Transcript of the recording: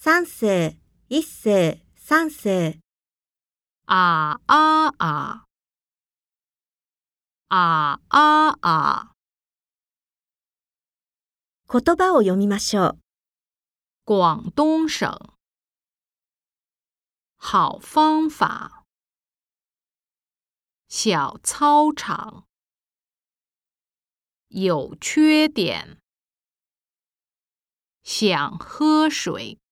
三世、一世、三世。 啊啊啊，啊啊啊。 言葉を読みましょう。 广东省，好方法。小操场，有缺点。想喝水。